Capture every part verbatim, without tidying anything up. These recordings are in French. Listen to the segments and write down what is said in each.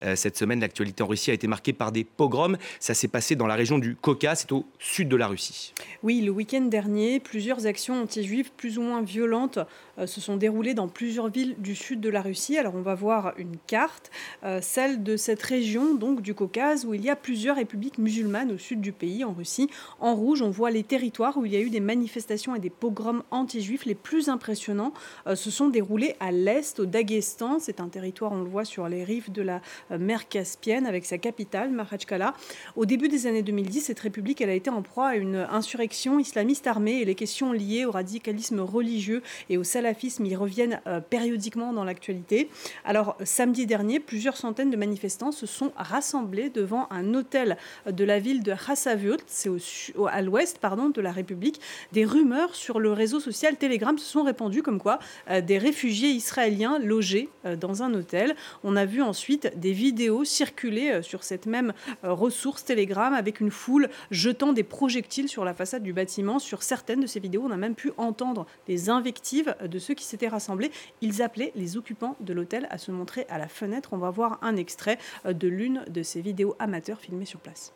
Cette semaine, l'actualité en Russie a été marquée par des pogroms. Ça s'est passé dans la région du Caucase, c'est au sud de la Russie. Oui, le week-end dernier, plusieurs actions anti-juives plus ou moins violentes euh, se sont déroulées dans plusieurs villes du sud de la Russie. Alors on va voir une carte, euh, celle de cette région donc du Caucase, où il y a plusieurs républiques musulmanes au sud du pays, en Russie. En rouge, on voit les territoires où il y a eu des manifestations et des pogroms anti-juifs. Les plus impressionnants euh, se sont déroulés à l'est, au Daghestan. C'est un territoire, on le voit, sur les rives de la mer Caspienne, avec sa capitale, Makhachkala. Au début des années deux mille dix, cette république elle a été en proie à une insurrection islamiste armée et les questions liées au radicalisme religieux et au salafisme y reviennent euh, périodiquement dans l'actualité. Alors, samedi dernier, plusieurs centaines de manifestants se sont rassemblés devant un hôtel de la ville de Khasavyurt, c'est au, au, à l'ouest pardon, de la République. Des rumeurs sur le réseau social Telegram se sont répandues comme quoi euh, des réfugiés israéliens logés euh, dans un hôtel. On a vu ensuite des vidéos circuler sur cette même ressource Telegram avec une foule jetant des projectiles sur la façade du bâtiment. Sur certaines de ces vidéos, on a même pu entendre des invectives de ceux qui s'étaient rassemblés. Ils appelaient les occupants de l'hôtel à se montrer à la fenêtre. On va voir un extrait de l'une de ces vidéos amateurs filmées sur place.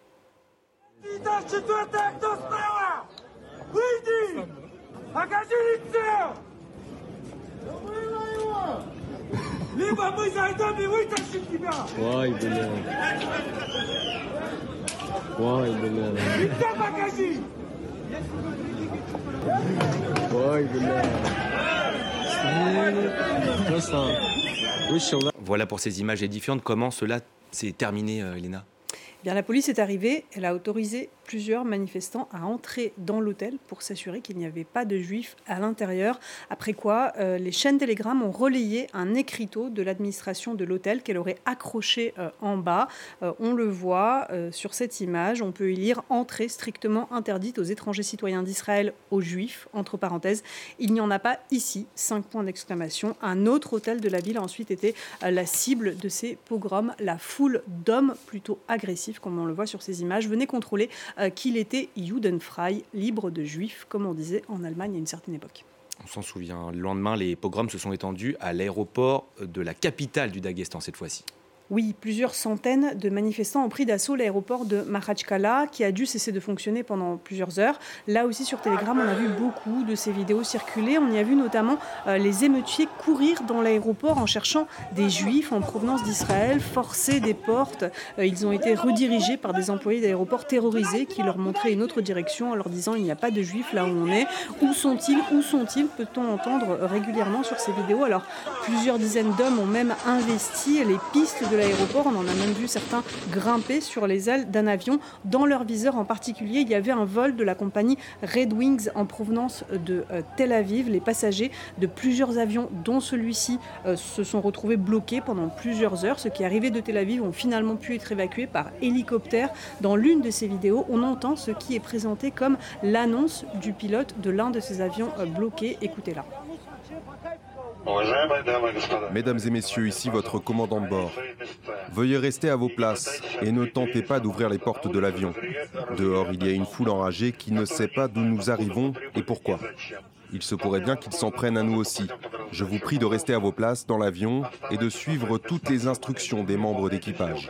Либо мы зайдем и вытащим тебя! Ой, бля. Ой, бля. Лицо покажи! Ой, бля. Voilà pour ces images édifiantes. Comment cela s'est terminé, euh, Elena? Bien, la police est arrivée, elle a autorisé plusieurs manifestants à entrer dans l'hôtel pour s'assurer qu'il n'y avait pas de juifs à l'intérieur. Après quoi, euh, les chaînes Telegram ont relayé un écriteau de l'administration de l'hôtel qu'elle aurait accroché euh, en bas. Euh, on le voit euh, sur cette image. On peut y lire « Entrée strictement interdite aux étrangers citoyens d'Israël, aux juifs ». Entre parenthèses, il n'y en a pas ici. Cinq points d'exclamation. Un autre hôtel de la ville a ensuite été euh, la cible de ces pogroms. La foule d'hommes plutôt agressifs, comme on le voit sur ces images, venait contrôler euh, qu'il était judenfrei, libre de juifs, comme on disait en Allemagne à une certaine époque. On s'en souvient. Le lendemain, les pogroms se sont étendus à l'aéroport de la capitale du Daghestan cette fois-ci. Oui, plusieurs centaines de manifestants ont pris d'assaut l'aéroport de Makhachkala qui a dû cesser de fonctionner pendant plusieurs heures. Là aussi sur Telegram, on a vu beaucoup de ces vidéos circuler. On y a vu notamment euh, les émeutiers courir dans l'aéroport en cherchant des juifs en provenance d'Israël, forcer des portes. Euh, ils ont été redirigés par des employés d'aéroport terrorisés qui leur montraient une autre direction en leur disant il n'y a pas de juifs là où on est. Où sont-ils? Où sont-ils? Peut-on entendre régulièrement sur ces vidéos. Alors plusieurs dizaines d'hommes ont même investi les pistes de l'aéroport. On en a même vu certains grimper sur les ailes d'un avion. Dans leur viseur en particulier, il y avait un vol de la compagnie Red Wings en provenance de euh, Tel Aviv. Les passagers de plusieurs avions, dont celui-ci, euh, se sont retrouvés bloqués pendant plusieurs heures. Ceux qui arrivaient de Tel Aviv ont finalement pu être évacués par hélicoptère. Dans l'une de ces vidéos, on entend ce qui est présenté comme l'annonce du pilote de l'un de ces avions euh, bloqués. Écoutez-la. Mesdames et messieurs, ici votre commandant de bord. Veuillez rester à vos places et ne tentez pas d'ouvrir les portes de l'avion. Dehors, il y a une foule enragée qui ne sait pas d'où nous arrivons et pourquoi. Il se pourrait bien qu'ils s'en prennent à nous aussi. Je vous prie de rester à vos places dans l'avion et de suivre toutes les instructions des membres d'équipage.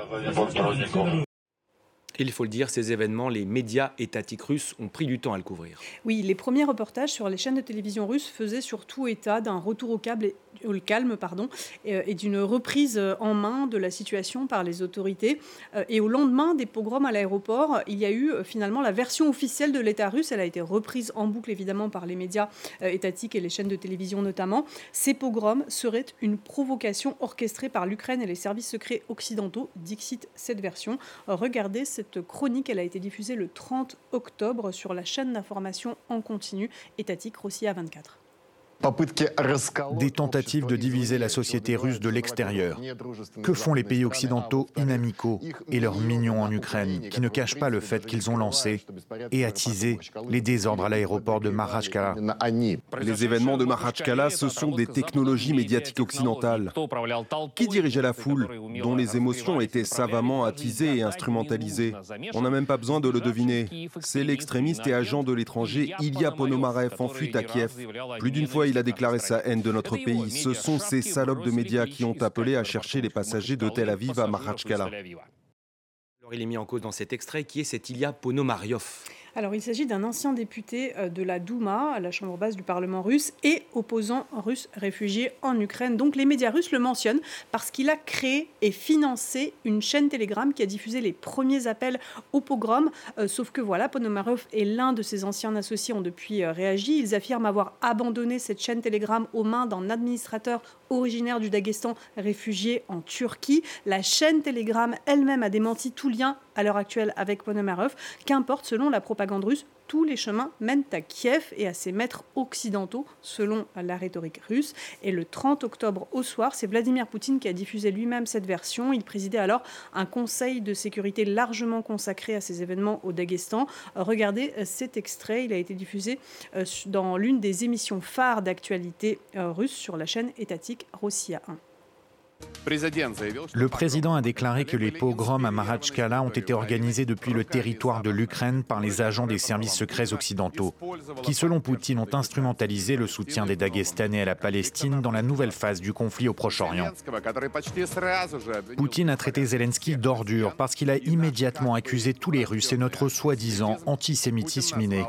Il faut le dire, ces événements, les médias étatiques russes ont pris du temps à le couvrir. Oui, les premiers reportages sur les chaînes de télévision russes faisaient surtout état d'un retour au, câble et, au calme pardon, et, et d'une reprise en main de la situation par les autorités. Et au lendemain des pogroms à l'aéroport, il y a eu finalement la version officielle de l'État russe. Elle a été reprise en boucle évidemment par les médias étatiques et les chaînes de télévision notamment. Ces pogroms seraient une provocation orchestrée par l'Ukraine et les services secrets occidentaux, dixit cette version. Regardez cette Cette chronique, elle a été diffusée le trente octobre sur la chaîne d'information en continu étatique Rossiya vingt-quatre. Des tentatives de diviser la société russe de l'extérieur. Que font les pays occidentaux inamicaux et leurs mignons en Ukraine, qui ne cachent pas le fait qu'ils ont lancé et attisé les désordres à l'aéroport de Makhachkala? Les événements de Makhachkala, ce sont des technologies médiatiques occidentales. Qui dirigeait la foule, dont les émotions étaient savamment attisées et instrumentalisées? On n'a même pas besoin de le deviner. C'est l'extrémiste et agent de l'étranger Ilya Ponomarev en fuite à Kiev. Plus d'une fois, il il a déclaré sa haine de notre pays. Ce sont ces salopes de médias qui ont appelé à chercher les passagers de Tel Aviv à Makhatchkala. Alors il est mis en cause dans cet extrait qui est cet Ilya Ponomaryov. Alors, il s'agit d'un ancien député de la Douma, la chambre basse du Parlement russe, et opposant russe réfugié en Ukraine. Donc, les médias russes le mentionnent parce qu'il a créé et financé une chaîne Telegram qui a diffusé les premiers appels au pogrom. Euh, sauf que voilà, Ponomaryov et l'un de ses anciens associés ont depuis euh, réagi. Ils affirment avoir abandonné cette chaîne Telegram aux mains d'un administrateur originaire du Daghestan réfugié en Turquie. La chaîne Telegram elle-même a démenti tout lien à l'heure actuelle avec Ponomaryov. Qu'importe, selon la propagande russe, tous les chemins mènent à Kiev et à ses maîtres occidentaux, selon la rhétorique russe. Et le trente octobre au soir, c'est Vladimir Poutine qui a diffusé lui-même cette version. Il présidait alors un conseil de sécurité largement consacré à ces événements au Daghestan. Regardez cet extrait, il a été diffusé dans l'une des émissions phares d'actualité russe sur la chaîne étatique Rossiya un. Le président a déclaré que les pogroms à Makhatchkala ont été organisés depuis le territoire de l'Ukraine par les agents des services secrets occidentaux, qui selon Poutine ont instrumentalisé le soutien des Dagestanais à la Palestine dans la nouvelle phase du conflit au Proche-Orient. Poutine a traité Zelensky d'ordure parce qu'il a immédiatement accusé tous les Russes et notre soi-disant antisémitisme inné.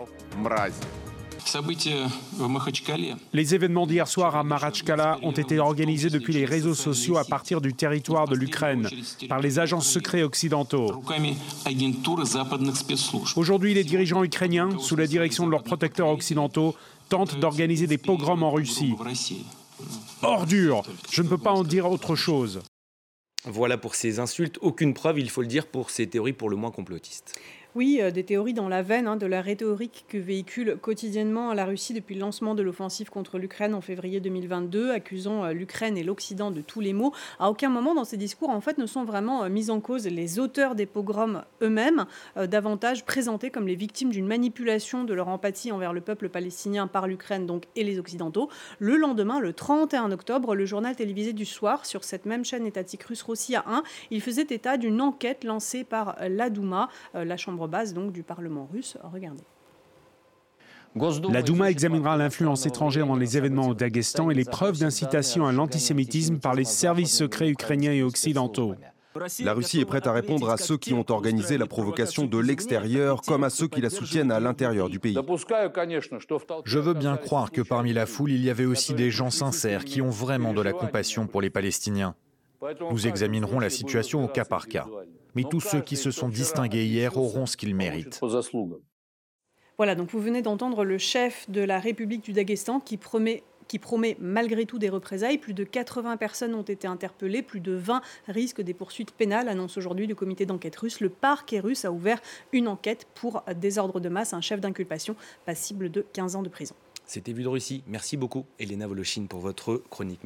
Les événements d'hier soir à Makhatchkala ont été organisés depuis les réseaux sociaux à partir du territoire de l'Ukraine par les agents secrets occidentaux. Aujourd'hui, les dirigeants ukrainiens, sous la direction de leurs protecteurs occidentaux, tentent d'organiser des pogroms en Russie. Ordure! Je ne peux pas en dire autre chose. Voilà pour ces insultes, aucune preuve, il faut le dire, pour ces théories pour le moins complotistes. Oui, euh, des théories dans la veine hein, de la rhétorique que véhicule quotidiennement la Russie depuis le lancement de l'offensive contre l'Ukraine en février deux mille vingt-deux, accusant euh, l'Ukraine et l'Occident de tous les maux. À aucun moment dans ces discours, en fait, ne sont vraiment euh, mis en cause les auteurs des pogroms eux-mêmes, euh, davantage présentés comme les victimes d'une manipulation de leur empathie envers le peuple palestinien par l'Ukraine donc, et les Occidentaux. Le lendemain, le trente et un octobre, le journal télévisé du soir, sur cette même chaîne étatique russe Rossiya un, il faisait état d'une enquête lancée par la Douma, euh, la chambre base donc du Parlement russe. Regardez. La Douma examinera l'influence étrangère dans les événements au Daghestan et les preuves d'incitation à l'antisémitisme par les services secrets ukrainiens et occidentaux. La Russie est prête à répondre à ceux qui ont organisé la provocation de l'extérieur comme à ceux qui la soutiennent à l'intérieur du pays. Je veux bien croire que parmi la foule, il y avait aussi des gens sincères qui ont vraiment de la compassion pour les Palestiniens. Nous examinerons la situation au cas par cas. Mais tous ceux qui se sont distingués hier auront ce qu'ils méritent. Voilà, donc vous venez d'entendre le chef de la République du Daghestan qui promet, qui promet malgré tout des représailles. Plus de quatre-vingts personnes ont été interpellées, plus de vingt risquent des poursuites pénales, annonce aujourd'hui le comité d'enquête russe. Le parquet russe a ouvert une enquête pour désordre de masse, un chef d'inculpation passible de quinze ans de prison. C'était Vue de Russie. Merci beaucoup, Elena Voloshin, pour votre chronique.